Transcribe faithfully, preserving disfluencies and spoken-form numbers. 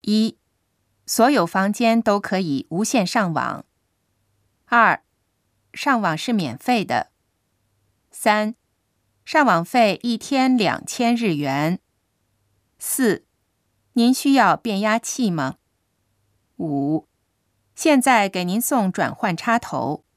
一、所有房间都可以无线上网。二、上网是免费的。三、上网费一天两千日元。四、您需要变压器吗？五、现在给您送转换插头。